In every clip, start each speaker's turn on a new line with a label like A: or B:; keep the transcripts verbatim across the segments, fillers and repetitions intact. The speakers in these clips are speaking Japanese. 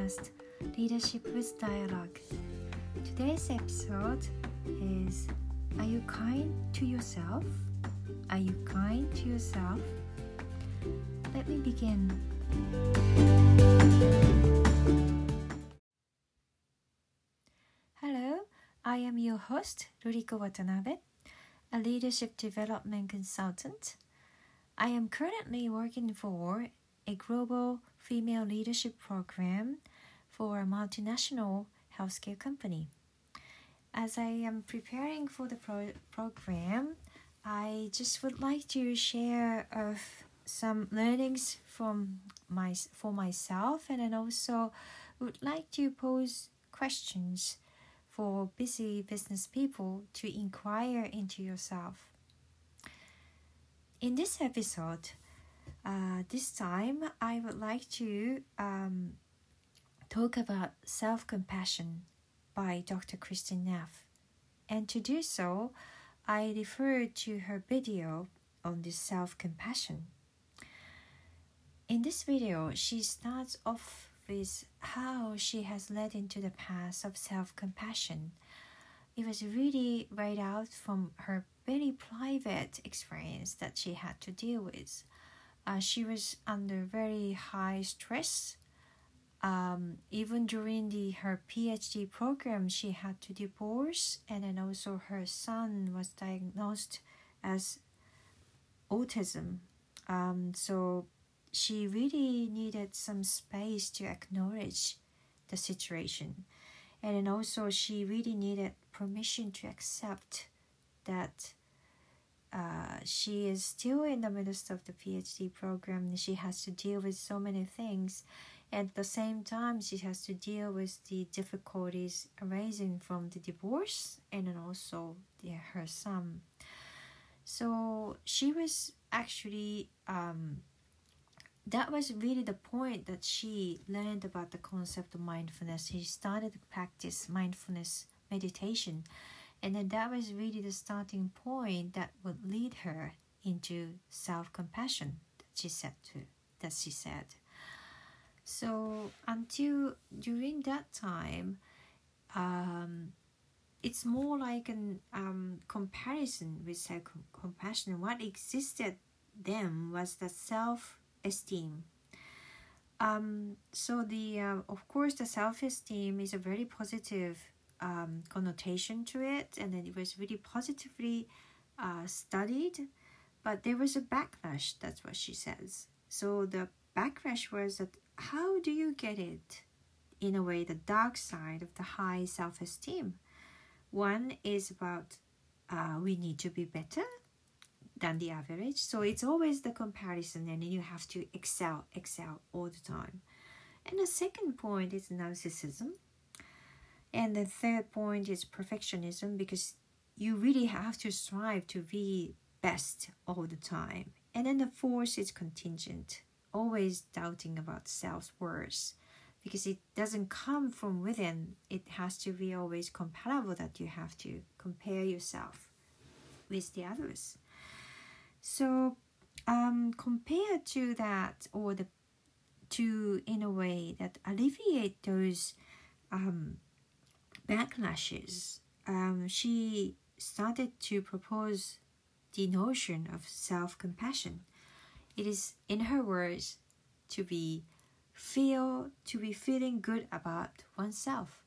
A: podcast, Leadership with Dialogue. Today's episode is, are you kind to yourself? Are you kind to yourself? Let me begin. Hello, I am your host, Ruriko Watanabe, a leadership development consultant. I am currently working for a global female leadership program for a multinational healthcare company. As I am preparing for the pro- program, I just would like to share of some learnings from my for myself, and then also would like to pose questions for busy business people to inquire into yourself. In this episode, uh, this time I would like to um, talk about self-compassion by Doctor Kristin Neff. And to do so, I refer to her video on this self-compassion. In this video, she starts off with how she has led into the path of self-compassion. It was really right out from her very private experience that she had to deal with. Uh, she was under very high stress. Um, even during the her PhD program, she had to divorce, and then also her son was diagnosed as autism. Um, so she really needed some space to acknowledge the situation. And then also she really needed permission to accept that uh, she is still in the midst of the PhD program. She has to deal with so many things. At the same time, she has to deal with the difficulties arising from the divorce and then also the, her son. So she was actually, um, that was really the point that she learned about the concept of mindfulness. She started to practice mindfulness meditation. And then that was really the starting point that would lead her into self-compassion, that she said to, that she said. So until during that time, um, it's more like an um, comparison with self-compassion. What existed then was the self-esteem. Um, so the uh, of course the self-esteem is a very positive um, connotation to it, and then it was really positively uh, studied, but there was a backlash. That's what she says. So the backlash was that how do you get it? In a way, the dark side of the high self-esteem. One is about uh, we need to be better than the average. So it's always the comparison, and you have to excel, excel all the time. And the second point is narcissism. And the third point is perfectionism, because you really have to strive to be best all the time. And then the fourth is contingent, always doubting about self-worth, because it doesn't come from within. It has to be always comparable, that you have to compare yourself with the others. So um, compared to that, or the to in a way that alleviate those um, backlashes, um, she started to propose the notion of self-compassion. It is, in her words, to be feel to be feeling good about oneself.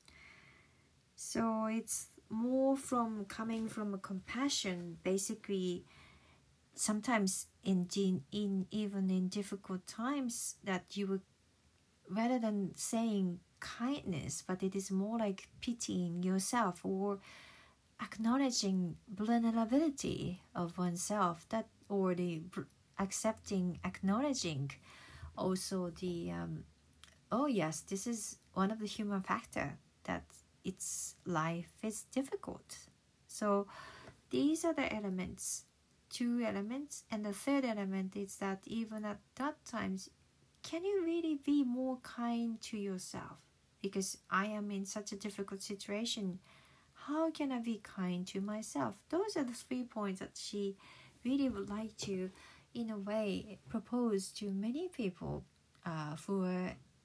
A: So it's more from coming from a compassion, basically. Sometimes in, in even in difficult times, that you would, rather than saying kindness, but it is more like pitying yourself or acknowledging vulnerability of oneself, that or the accepting, acknowledging also the um, oh yes, this is one of the human factor, that its life is difficult. So these are the elements, two elements. And the third element is that even at that times, can you really be more kind to yourself? Because I am in such a difficult situation, how can I be kind to myself? Those are the three points that she really would like to, in a way, propose to many people uh, who are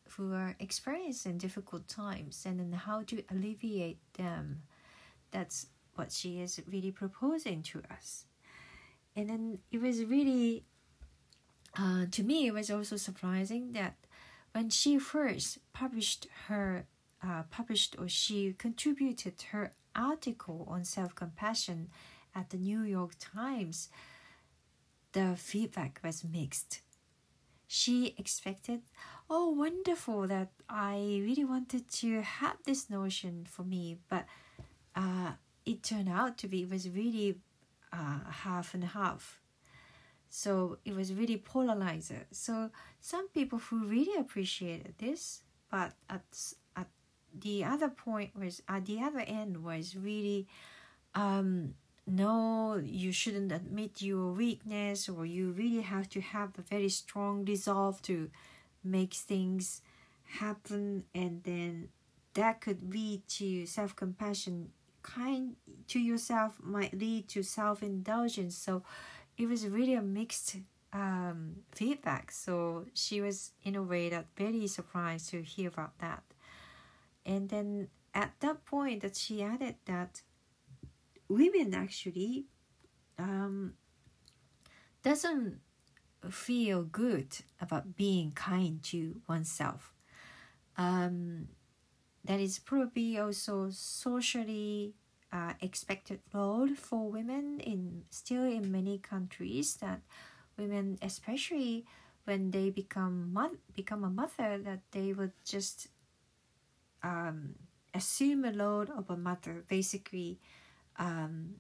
A: who are experiencing difficult times and then how to alleviate them. That's what she is really proposing to us. And then it was really, uh, to me, it was also surprising that when she first published her, uh, published or she contributed her article on self-compassion at the New York Times, the feedback was mixed. She expected, oh, wonderful, that I really wanted to have this notion for me, but uh, it turned out to be, it was really uh, half and half. So it was really polarizer. So some people who really appreciated this, but at at the other point was, at the other end was really, um, no, you shouldn't admit your weakness, or you really have to have a very strong resolve to make things happen, and then that could lead to self-compassion. Kind to yourself might lead to self-indulgence. So it was really a mixed um, feedback. So she was in a way that very surprised to hear about that. And then at that point that she added that women actually um, doesn't feel good about being kind to oneself. Um, that is probably also socially uh, expected role for women in still in many countries, that women, especially when they become mo- become a mother, that they would just um, assume a load of a mother, basically um,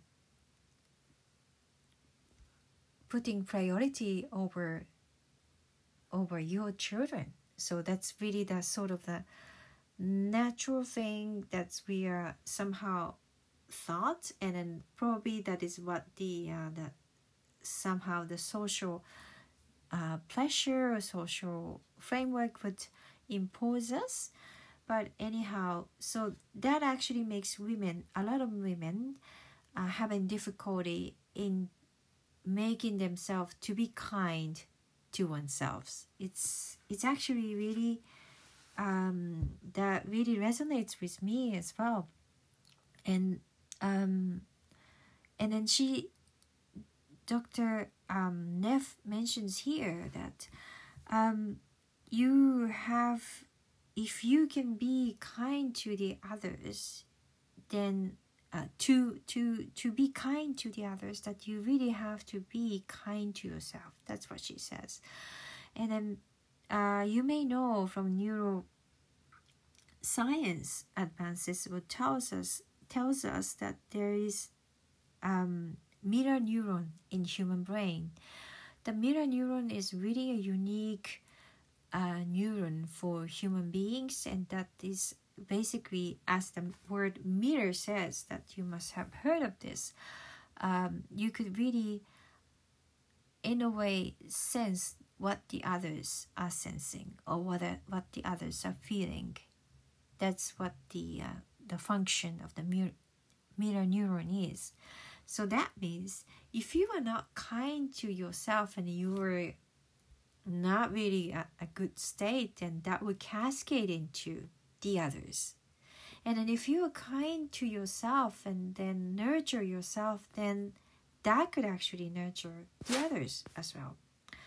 A: putting priority over over your children. So that's really the sort of the natural thing that we are somehow thought, and then probably that is what the uh, the somehow the social uh, pleasure or social framework would impose us. But anyhow, so that actually makes women, a lot of women uh, having difficulty in making themselves to be kind to oneself. It's it's actually really um, that really resonates with me as well. And um, and then she, Doctor Um, Neff mentions here that um, you have, if you can be kind to the others, then uh, to to to be kind to the others, that you really have to be kind to yourself. That's what she says. And then uh, you may know from neuroscience advances, what tells us tells us that there is um, mirror neuron in human brain. The mirror neuron is really a unique uh, neuron for human beings, and that is basically, as the word mirror says, that you must have heard of this. Um, you could really, in a way, sense what the others are sensing, or what a, what the others are feeling. That's what the uh, the function of the mirror, mirror neuron is. So that means if you are not kind to yourself and you are not really at a good state, then that would cascade into the others. And then if you are kind to yourself and then nurture yourself, then that could actually nurture the others as well.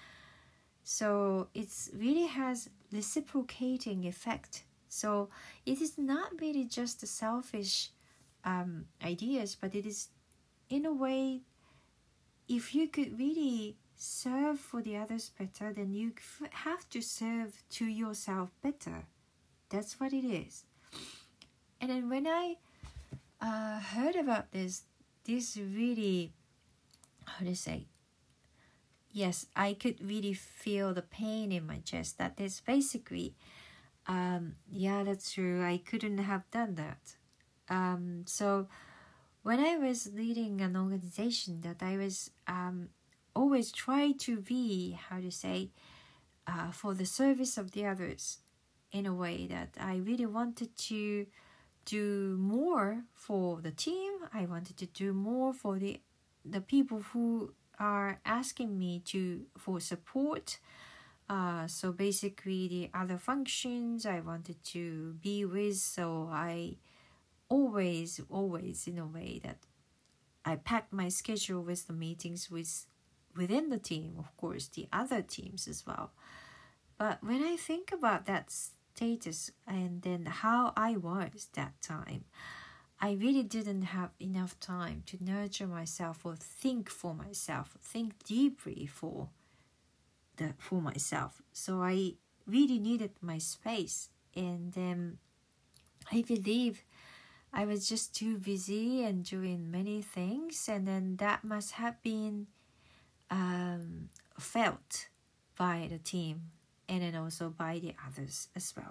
A: So it's really has reciprocating effect. So it is not really just the selfish um, ideas, but it is, in a way, if you could really serve for the others better, then you have to serve to yourself better. That's what it is. And then when I uh, heard about this, this really, how to say, yes, I could really feel the pain in my chest. That is basically, um, yeah, that's true. I couldn't have done that. Um, so when I was leading an organization, that I was um, always try to be, how to say, uh, for the service of the others, in a way that I really wanted to do more for the team. I wanted to do more for the the people who are asking me to for support. Uh, so basically the other functions I wanted to be with, so I always, always in a way that I packed my schedule with the meetings with within the team, of course, the other teams as well. But when I think about that status and then how I was that time, I really didn't have enough time to nurture myself or think for myself, think deeply for the for myself. So I really needed my space, and then I believe I was just too busy and doing many things, and then that must have been um, felt by the team and then also by the others as well.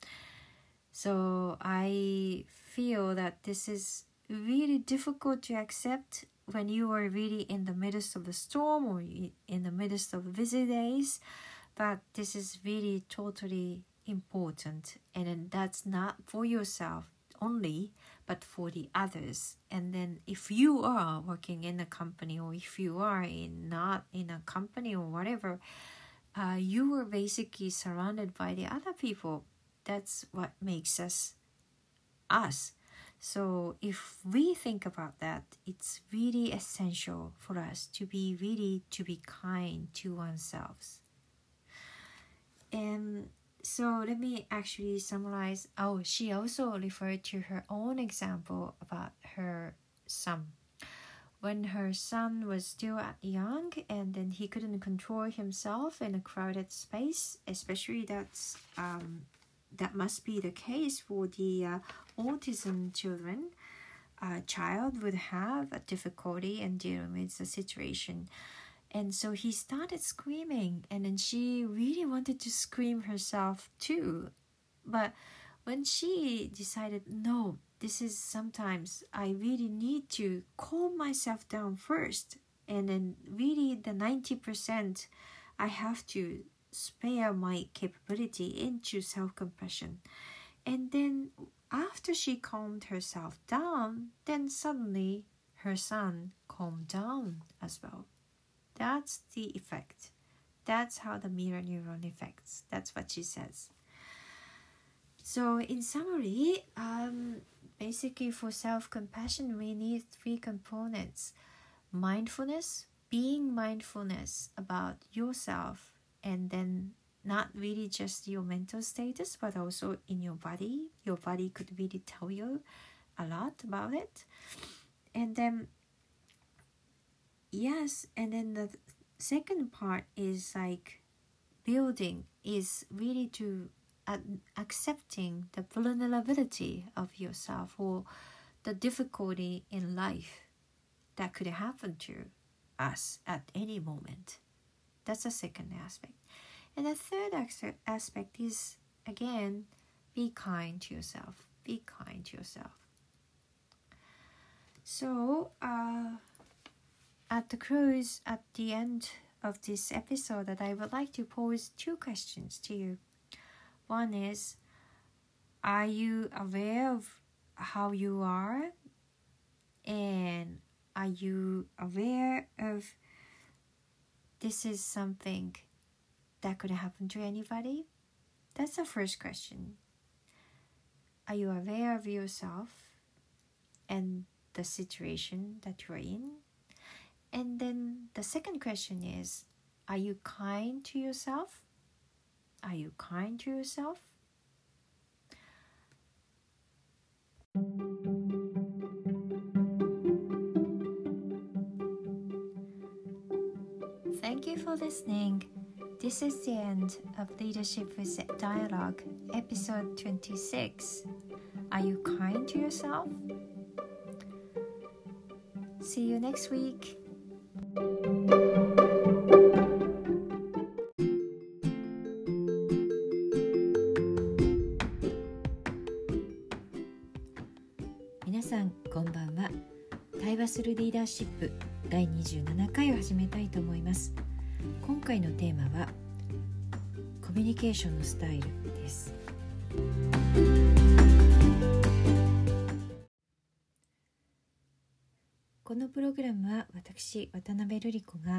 A: So I feel that this is really difficult to accept when you are really in the midst of the storm or in the midst of busy days, but this is really totally important, and then that's not for yourself only, but for the others. And then if you are working in a company, or if you are in not in a company or whatever, uh, you are basically surrounded by the other people. That's what makes us us. So if we think about that, it's really essential for us to be really to be kind to ourselves. And so let me actually summarize. Oh, she also referred to her own example about her son. When her son was still young and then he couldn't control himself in a crowded space, especially that's um, that must be the case for the uh, autism children. A child would have a difficulty in dealing with the situation. And so he started screaming, and then she really wanted to scream herself too. But when she decided, no, this is sometimes I really need to calm myself down first, and then really the ninety percent I have to spare my capability into self-compassion. And then after she calmed herself down, then suddenly her son calmed down as well. That's the effect. That's how the mirror neuron affects. That's what she says. So in summary, um, basically for self-compassion, we need three components. Mindfulness, being mindfulness about yourself, and then not really just your mental status, but also in your body. Your body could really tell you a lot about it. And then, yes, and then the second part is like building, is really to uh, accepting the vulnerability of yourself or the difficulty in life that could happen to us at any moment. That's the second aspect. And the third aspect is, again, be kind to yourself. Be kind to yourself. So, uh, at the close, at the end of this episode, that I would like to pose two questions to you. One is, are you aware of how you are? And are you aware of this is something that could happen to anybody? That's the first question. Are you aware of yourself and the situation that you're in? And then the second question is, are you kind to yourself? Are you kind to yourself? Thank you for listening. This is the end of Leadership with Dialogue, episode twenty-six. Are you kind to yourself? See you next week.皆さんこんばんは。対話するリーダーシップだいにじゅうななかいを始めたいと思います。今回のテーマはコミュニケーションのスタイルです。このプログラムは私渡辺瑠璃子が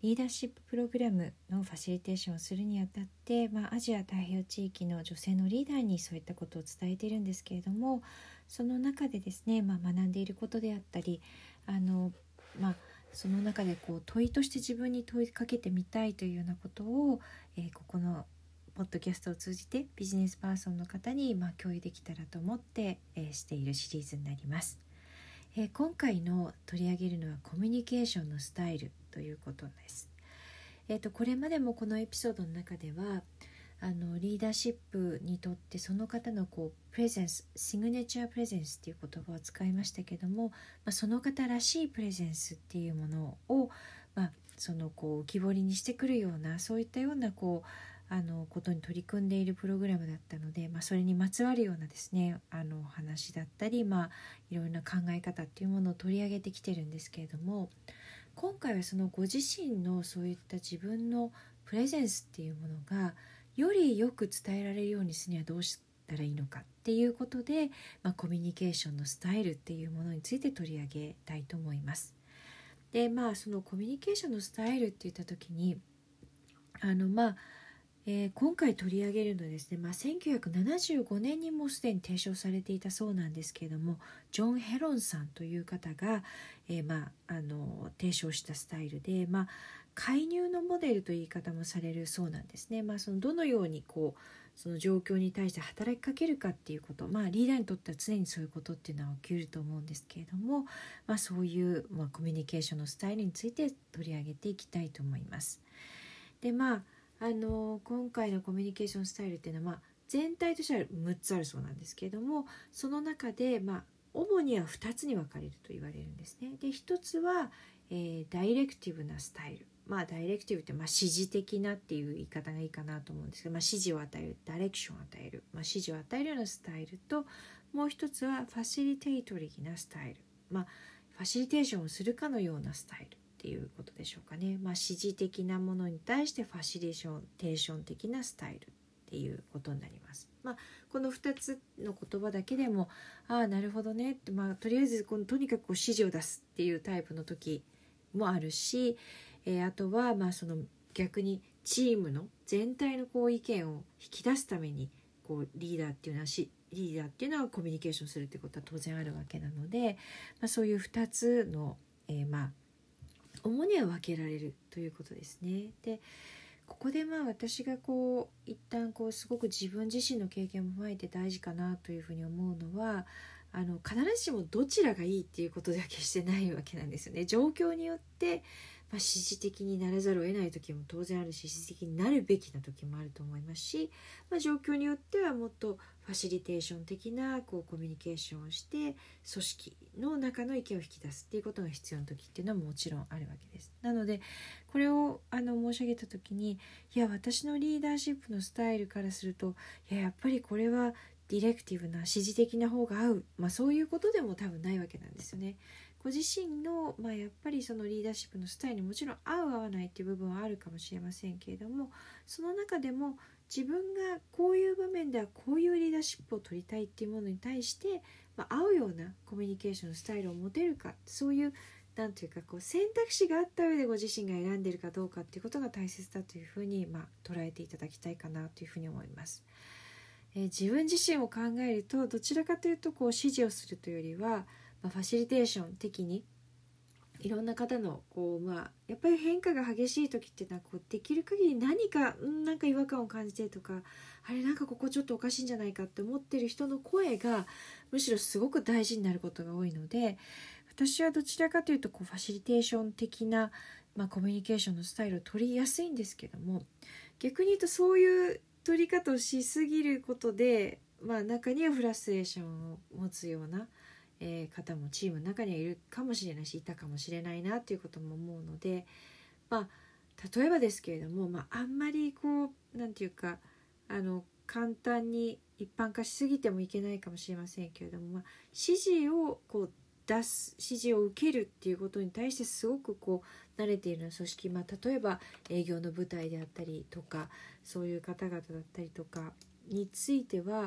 A: リーダーシッププログラムのファシリテーションをするにあたって、まあ、アジア太平洋地域の女性のリーダーにそういったことを伝えているんですけれども、その中でですね、まあ、学んでいることであったり、あの、まあ、その中でこう問いとして自分に問いかけてみたいというようなことを、えー、ここのポッドキャストを通じてビジネスパーソンの方にまあ共有できたらと思って、えー、しているシリーズになります。えー、今回の取り上げるのはコミュニケーションのスタイルということです。えーと、これまでもこのエピソードの中ではあのリーダーシップにとってその方のこうプレゼンス、シグネチャープレゼンスっていう言葉を使いましたけども、まあ、その方らしいプレゼンスっていうものを、まあ、そのこう浮き彫りにしてくるようなそういったようなこうあのことに取り組んでいるプログラムだったので、まあ、それにまつわるようなですねあの話だったり、まあ、いろいろな考え方っていうものを取り上げてきてるんですけれども、今回はそのご自身のそういった自分のプレゼンスっていうものがよりよく伝えられるようにするにはどうしたらいいのかっていうことで、まあ、コミュニケーションのスタイルっていうものについて取り上げたいと思います。で、まあそのコミュニケーションのスタイルって言った時にあのまあえー、今回取り上げるのはですね、まあ、せんきゅうひゃくななじゅうごねんにもうすでに提唱されていたそうなんですけれども、ジョン・ヘロンさんという方が、えーまあ、あの提唱したスタイルで、まあ、介入のモデルという言い方もされるそうなんですね。まあ、そのどのようにこうその状況に対して働きかけるかっていうこと、まあ、リーダーにとっては常にそういうことっていうのは起きると思うんですけれども、まあ、そういう、まあ、コミュニケーションのスタイルについて取り上げていきたいと思います。で、まああの今回のコミュニケーションスタイルっていうのは、まあ、全体としてはむっつあるそうなんですけれども、その中で、まあ、主にはふたつに分かれると言われるんですね。で、ひとつは、えー、ダイレクティブなスタイル、まあ、ダイレクティブって、まあ、指示的なっていう言い方がいいかなと思うんですけど、まあ、指示を与える、ダイレクションを与える、まあ、指示を与えるようなスタイルと、もう一つはファシリテートリーなスタイル、まあ、ファシリテーションをするかのようなスタイルっていうことでしょうかね。まあ、指示的なものに対してファシリテーション的なスタイルっていうことになります。まあ、このふたつの言葉だけでもああなるほどねって、まあ、とりあえずこのとにかくこう指示を出すっていうタイプの時もあるし、えー、あとはまあその逆にチームの全体のこう意見を引き出すためにこうリーダーっていうのはしリーダーっていうのはコミュニケーションするってことは当然あるわけなので、まあ、そういうふたつの、えー、まあ主には分けられるということですね。で、ここでまあ私がこう一旦こうすごく自分自身の経験も踏まえて大事かなというふうに思うのは、あの必ずしもどちらがいいっていうことでは決してないわけなんですよね。状況によって、まあ、指示的にならざるを得ない時も当然あるし、指示的になるべきな時もあると思いますし、まあ、状況によってはもっとファシリテーション的なこうコミュニケーションをして組織の中の意見を引き出すっていうことが必要な時っていうのはもちろんあるわけです。なのでこれをあの申し上げた時に、いや私のリーダーシップのスタイルからすると、いややっぱりこれはディレクティブな指示的な方が合う、まあ、そういうことでも多分ないわけなんですよね。ご自身の、まあ、やっぱりそのリーダーシップのスタイルにもちろん合う合わないっていう部分はあるかもしれませんけれども、その中でも自分がこういう場面ではこういうリーダーシップを取りたいっていうものに対して、まあ、合うようなコミュニケーションのスタイルを持てるか、そういうなんというかこう選択肢があった上でご自身が選んでいるかどうかっていうことが大切だというふうに、まあ、捉えていただきたいかなというふうに思います。えー、自分自身を考えるとどちらかというとこう指示をするというよりは、まあ、ファシリテーション的にいろんな方のこう、まあ、やっぱり変化が激しい時っていうのはこうできる限り何かんなんか違和感を感じてとか、あれなんかここちょっとおかしいんじゃないかって思ってる人の声がむしろすごく大事になることが多いので、私はどちらかというとこうファシリテーション的な、まあ、コミュニケーションのスタイルを取りやすいんですけども、逆に言うとそういう取り方をしすぎることで、まあ、中にはフラストレーションを持つような、えー、方もチームの中にはいるかもしれないしいたかもしれないなということも思うので、まあ、例えばですけれども、まあ、あんまりこうなんていうかあの簡単に一般化しすぎてもいけないかもしれませんけれども、まあ、指示をこう出す指示を受けるっていうことに対してすごくこう慣れている組織、まあ、例えば営業の舞台であったりとかそういう方々だったりとかについては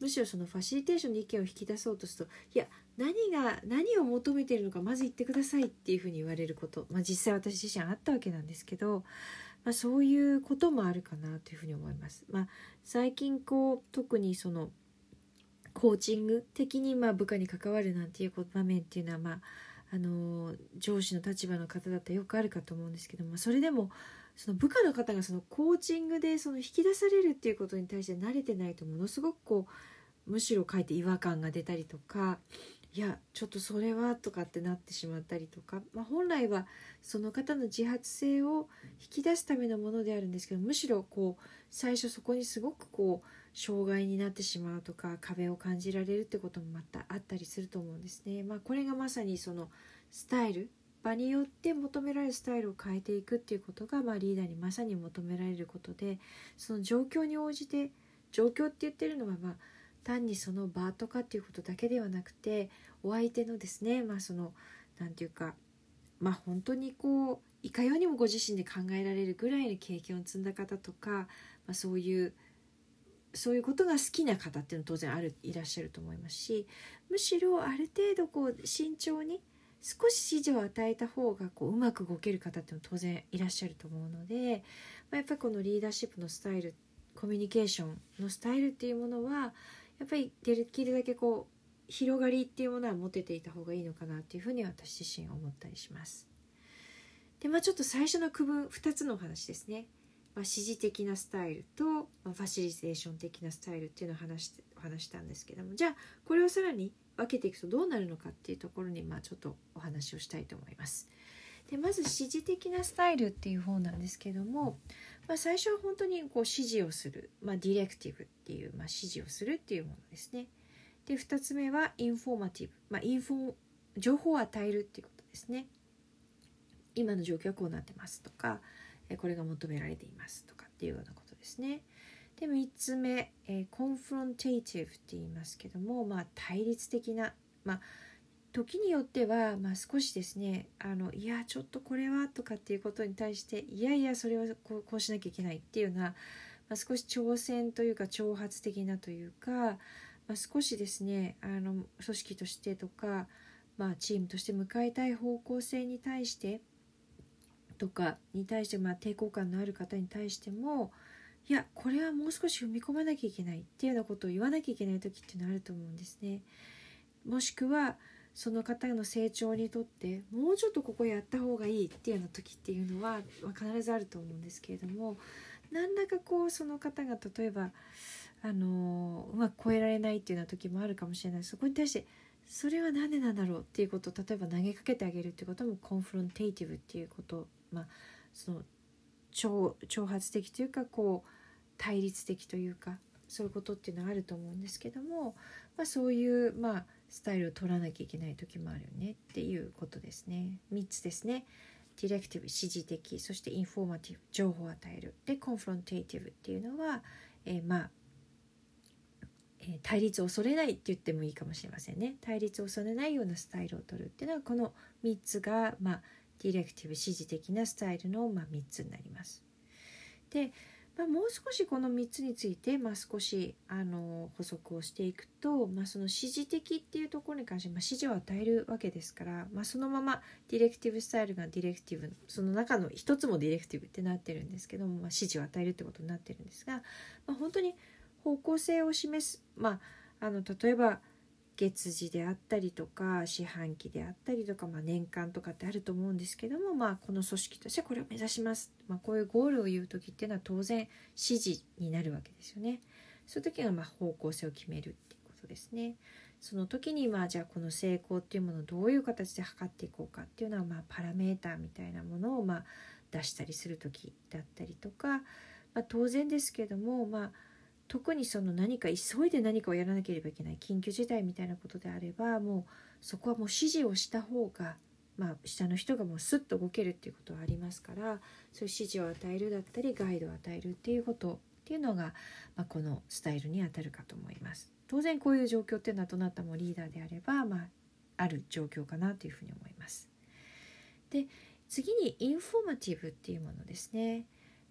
A: むしろそのファシリテーションの意見を引き出そうとすると、いや何が何を求めているのかまず言ってくださいっていうふうに言われること、まあ、実際私自身あったわけなんですけど、まあ、そういうこともあるかなというふうに思います。まあ、最近こう特にそのコーチング的にまあ部下に関わるなんていう場面っていうのは、まああの上司の立場の方だったらよくあるかと思うんですけども、それでもその部下の方がそのコーチングでその引き出されるっていうことに対して慣れてないと、ものすごくこうむしろかえって違和感が出たりとか、いやちょっとそれはとかってなってしまったりとか、まあ、本来はその方の自発性を引き出すためのものであるんですけど、むしろこう最初そこにすごくこう障害になってしまうとか壁を感じられるってこともまたあったりすると思うんですね。まあ、これがまさにそのスタイル、場によって求められるスタイルを変えていくっていうことが、まあ、リーダーにまさに求められることで、その状況に応じて、状況って言ってるのはまあ単にその場とかっていうことだけではなくて、お相手のですね、まあそのなんていうか、まあ本当にこういかようにもご自身で考えられるぐらいの経験を積んだ方とか、まあ、そういうそういうことが好きな方っていうのは当然あるいらっしゃると思いますし、むしろある程度こう慎重に少し指示を与えた方がこううまく動ける方っていうのは当然いらっしゃると思うので、まあ、やっぱりこのリーダーシップのスタイル、コミュニケーションのスタイルっていうものはやっぱりできるだけこう広がりっていうものは持てていた方がいいのかなっていうふうに私自身思ったりします。で、まあ、ちょっと最初の区分ふたつのお話ですね。まあ、指示的なスタイルと、まあ、ファシリテーション的なスタイルっていうのを話して話したんですけども、じゃあこれをさらに分けていくとどうなるのかっていうところに、まあ、ちょっとお話をしたいと思います。で、まず指示的なスタイルっていう方なんですけども、まあ、最初は本当にこう指示をする、まあ、ディレクティブっていう、まあ、指示をするっていうものですね。で、ふたつめはインフォーマティブ、まあ、インフォ情報を与えるっていうことですね。今の状況はこうなってますとか、これが求められていますとかっていうようなことですね。で、みっつめ、えー、コンフロンテーティブって言いますけども、まあ、対立的な、まあ、時によっては、まあ、少しですね、あのいやちょっとこれはとかっていうことに対して、いやいやそれはこう、こうしなきゃいけないっていうような、まあ、少し挑戦というか挑発的なというか、まあ、少しですね、あの組織としてとか、まあ、チームとして向かいたい方向性に対してとかに対して、まあ、抵抗感のある方に対しても、いやこれはもう少し踏み込まなきゃいけないっていうようなことを言わなきゃいけない時っていうのはあると思うんですね。もしくはその方の成長にとってもうちょっとここやった方がいいっていうような時っていうのは、まあ、必ずあると思うんですけれども、何らかこうその方が例えばあのうまく超えられないっていうような時もあるかもしれない。そこに対してそれは何でなんだろうっていうことを例えば投げかけてあげるっていうこともコンフロンテーティブっていうこと、まあ、その 挑, 挑発的というかこう対立的というかそういうことっていうのはあると思うんですけども、まあ、そういう、まあ、スタイルを取らなきゃいけない時もあるよねっていうことですね。みっつですね。ディレクティブ、指示的、そしてインフォーマティブ、情報を与える、でコンフロンテーティブっていうのは、えー、まあ対立を恐れないって言ってもいいかもしれませんね。対立を恐れないようなスタイルを取るっていうのは、このみっつが、まあ、ディレクティブ、指示的なスタイルの、まあ、みっつになります。で、まあ、もう少しこのみっつについて、まあ、少しあの補足をしていくと、まあ、その指示的っていうところに関して、まあ、指示を与えるわけですから、まあ、そのままディレクティブスタイルがディレクティブ、その中の一つもディレクティブってなってるんですけども、まあ、指示を与えるってことになってるんですが、まあ、本当に方向性を示す、まあ、あの例えば月次であったりとか四半期であったりとか、まあ、年間とかってあると思うんですけども、まあ、この組織としてこれを目指します、まあ、こういうゴールを言う時っていうのは当然指示になるわけですよね。そういう時がまあ方向性を決めるっていうことですね。その時にまあじゃあこの成功っていうものをどういう形で測っていこうかっていうのは、まあパラメーターみたいなものをまあ出したりする時だったりとか、まあ、当然ですけども、まあ特にその何か急いで何かをやらなければいけない緊急事態みたいなことであれば、もうそこはもう指示をした方が、まあ、下の人がもうスッと動けるっていうことはありますから、そういう指示を与えるだったりガイドを与えるっていうことっていうのが、まあ、このスタイルにあたるかと思います。当然こういう状況っていうのはどなたもリーダーであれば、まあ、ある状況かなというふうに思います。で、次にインフォーマティブっていうものですね。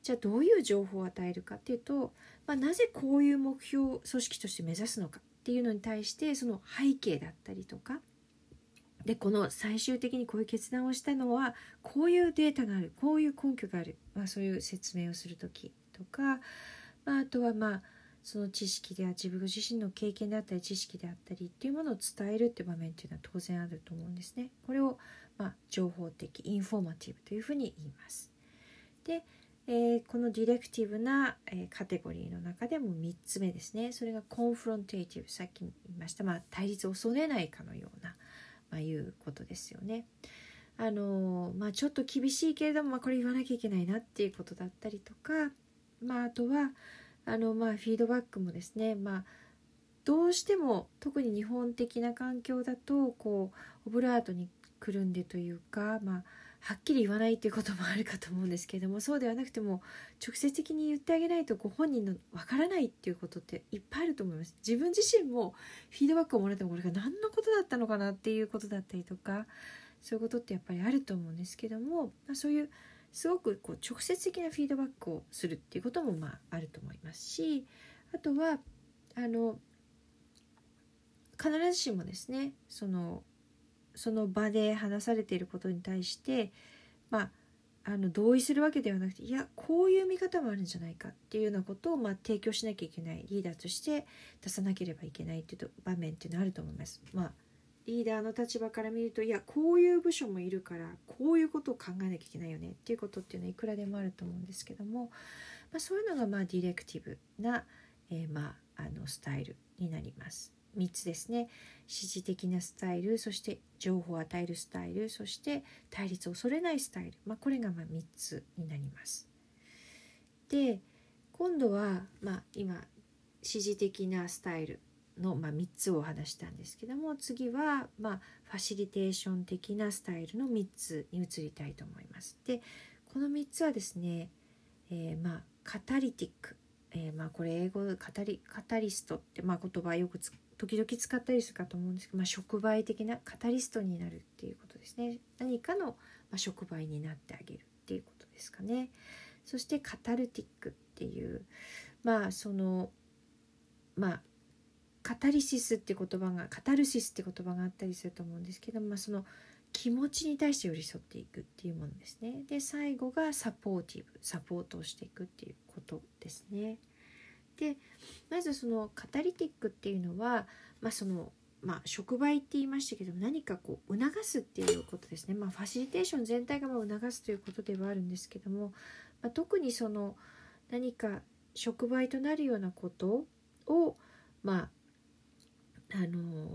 A: じゃあどういう情報を与えるかっていうと、まあ、なぜこういう目標を組織として目指すのかっていうのに対してその背景だったりとかで、この最終的にこういう決断をしたのはこういうデータがある、こういう根拠がある、まあ、そういう説明をするときとか、まあ、あとはまあその知識では自分自身の経験であったり知識であったりっていうものを伝えるっていう場面っていうのは当然あると思うんですね。これをまあ情報的インフォーマティブというふうに言います。で、えー、このディレクティブな、えー、カテゴリーの中でもみっつめですね。それがコンフロンテーティブ、さっき言いました、まあ、対立を恐れないかのような、まあ、いうことですよね。あのーまあ、ちょっと厳しいけれども、まあ、これ言わなきゃいけないなっていうことだったりとか、まあ、あとはあの、まあ、フィードバックもですね、まあ、どうしても特に日本的な環境だとこうオブラートにくるんでというか、まあ、はっきり言わないということもあるかと思うんですけれども、そうではなくても直接的に言ってあげないとご本人のわからないっていうことっていっぱいあると思います。自分自身もフィードバックをもらってもこれが何のことだったのかなっていうことだったりとか、そういうことってやっぱりあると思うんですけども、まあ、そういうすごくこう直接的なフィードバックをするっていうこともまああると思いますし、あとはあの必ずしもですね、そのその場で話されていることに対して、まあ、あの同意するわけではなくて、いやこういう見方もあるんじゃないかっていうようなことを、まあ、提供しなきゃいけない、リーダーとして出さなければいけないっていう場面っていうのはあると思います。まあ、リーダーの立場から見ると、いやこういう部署もいるからこういうことを考えなきゃいけないよねっていうことっていうのはいくらでもあると思うんですけども、まあ、そういうのがまあディレクティブな、えー、まあ、あのスタイルになります。みっつですね。指示的なスタイル、そして情報を与えるスタイル、そして対立を恐れないスタイル、まあ、これがまあみっつになります。で、今度は、まあ、今指示的なスタイルの、まあ、みっつを話したんですけども、次は、まあ、ファシリテーション的なスタイルのみっつに移りたいと思います。で、このみっつはですね、えー、まあカタリティック、えー、まあこれ英語でカタリカタリストって、まあ、言葉よくつ時々使ったりするかと思うんですけど、まあ、触媒的なカタリストになるっていうことですね。何かの、まあ、触媒になってあげるっていうことですかね。そしてカタルティックっていうまあそのまあカタリシスって言葉がカタルシスって言葉があったりすると思うんですけど、まあ、その気持ちに対して寄り添っていくっていうものですね。で、最後がサポーティブ、サポートをしていくっていうことですね。で、まずそのカタリティックっていうのは、まあそのまあ、触媒って言いましたけども、何かこう促すっていうことですね。まあ、ファシリテーション全体がまあ促すということではあるんですけども、まあ、特にその何か触媒となるようなことをまああのー、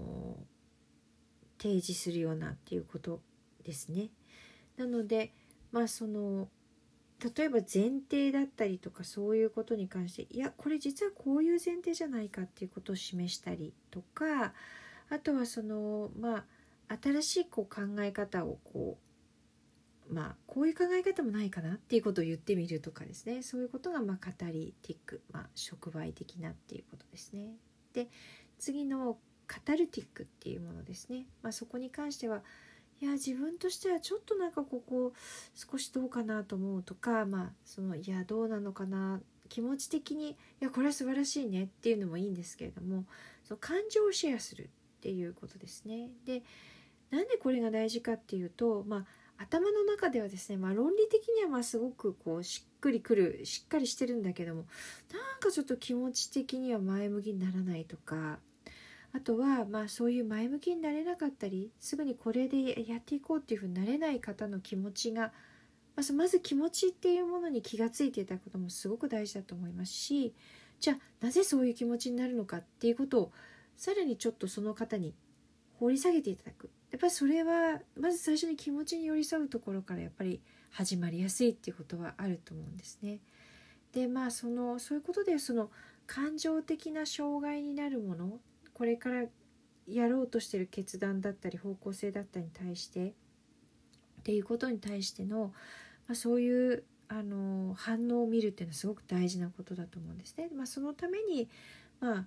A: 提示するようなっていうことですね。なので、まあその例えば前提だったりとかそういうことに関して、いやこれ実はこういう前提じゃないかっていうことを示したりとか、あとはそのまあ新しいこう考え方をこうまあこういう考え方もないかなっていうことを言ってみるとかですね。そういうことがまあカタリティック、まあ触媒的なっていうことですね。で、次のカタルティックっていうものですね。まあそこに関しては、いや自分としてはちょっとなんかここ少しどうかなと思うとか、まあそのいやどうなのかな、気持ち的にいやこれは素晴らしいねっていうのもいいんですけれども、その感情をシェアするっていうことですね。で、なんでこれが大事かっていうと、まあ頭の中ではですね、まあ論理的にはまあすごくこうしっくりくる、しっかりしてるんだけども、なんかちょっと気持ち的には前向きにならないとか、あとはまあそういう前向きになれなかったり、すぐにこれでやっていこうっていうふうになれない方の気持ちが、まずまず気持ちっていうものに気がついていただくこともすごく大事だと思いますし、じゃあなぜそういう気持ちになるのかっていうことをさらにちょっとその方に掘り下げていただく。やっぱりそれはまず最初に気持ちに寄り添うところからやっぱり始まりやすいっていうことはあると思うんですね。で、まあそのそういうことでその感情的な障害になるもの、これからやろうとしている決断だったり方向性だったりに対してっていうことに対しての、まあ、そういうあの反応を見るっていうのはすごく大事なことだと思うんですね。まあ、そのために、まあ、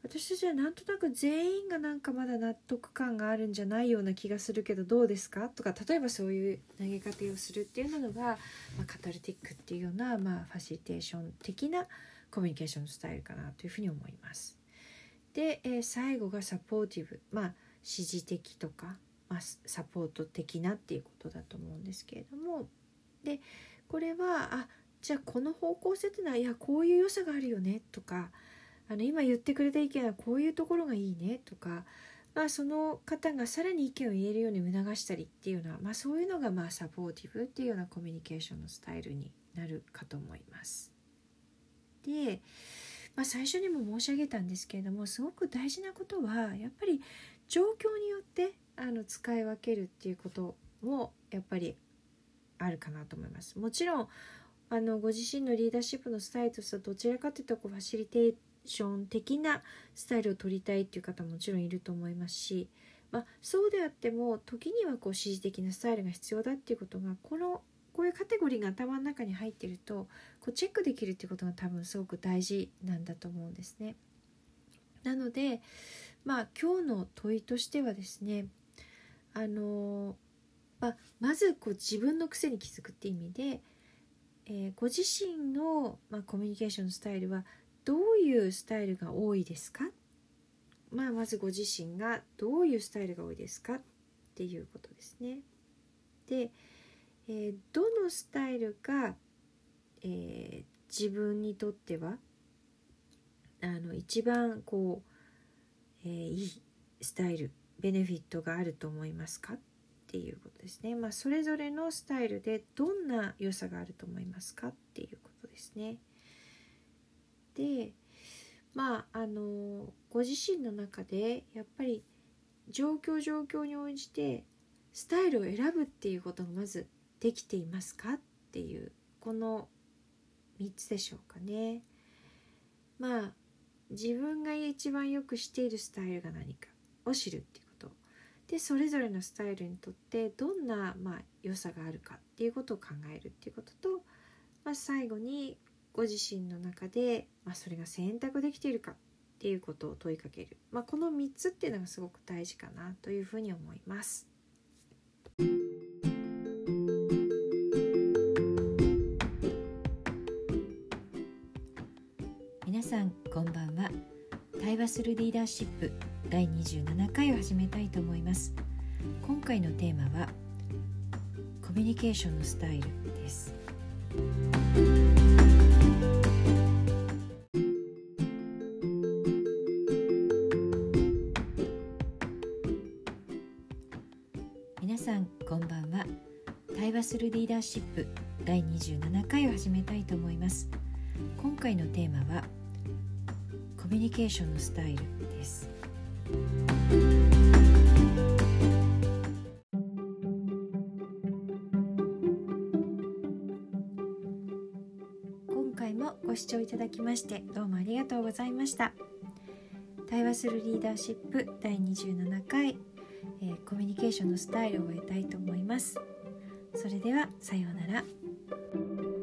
A: 私たちはなんとなく全員がなんかまだ納得感があるんじゃないような気がするけどどうですかとか、例えばそういう投げかけをするっていうのが、まあ、カタルティックっていうような、まあ、ファシリテーション的なコミュニケーションスタイルかなというふうに思います。で、えー、最後がサポーティブ、まあ指示的とか、まあ、サポート的なっていうことだと思うんですけれども、でこれはあじゃあこの方向性ってのはいやこういう良さがあるよねとか、あの今言ってくれた意見はこういうところがいいねとか、まあ、その方がさらに意見を言えるように促したりっていうのは、まあ、そういうのがまあサポーティブっていうようなコミュニケーションのスタイルになるかと思います。で、まあ、最初にも申し上げたんですけれども、すごく大事なことはやっぱり状況によってあの使い分けるっていうこともやっぱりあるかなと思います。もちろんあのご自身のリーダーシップのスタイルとしてはどちらかというとこうファシリテーション的なスタイルを取りたいっていう方ももちろんいると思いますし、まあ、そうであっても時にはこう指示的なスタイルが必要だっていうことがこのこういうカテゴリーが頭の中に入っているとこうチェックできるっていうことが多分すごく大事なんだと思うんですね。なので、まあ、今日の問いとしてはですね、あのまあ、まずこう自分の癖に気づくっていう意味で、えー、ご自身の、まあ、コミュニケーションスタイルはどういうスタイルが多いですか、まあ、まずご自身がどういうスタイルが多いですかっていうことですね。で、えー、どのスタイルが、えー、自分にとってはあの一番こう、えー、いいスタイル、ベネフィットがあると思いますかっていうことですね。まあ、それぞれのスタイルでどんな良さがあると思いますかっていうことですね。で、まああのご自身の中でやっぱり状況状況に応じてスタイルを選ぶっていうことがまずできていますかっていうこのみっつでしょうかね。まあ自分が一番よくしているスタイルが何かを知るっていうことで、それぞれのスタイルにとってどんな、まあ、良さがあるかっていうことを考えるっていうことと、まあ、最後にご自身の中で、まあ、それが選択できているかっていうことを問いかける、まあ、このみっつっていうのがすごく大事かなというふうに思います。皆さんこんばんは。対話するリーダーシップだいにじゅうななかいを始めたいと思います。今回のテーマはコミュニケーションのスタイルです。皆さんこんばんは。対話するリーダーシップだいにじゅうななかいを始めたいと思います。今回のテーマはコミュニケーションのスタイルです。今回もご視聴いただきましてどうもありがとうございました。対話するリーダーシップだいにじゅうななかい、えー、コミュニケーションのスタイルを終えたいと思います。それではさようなら。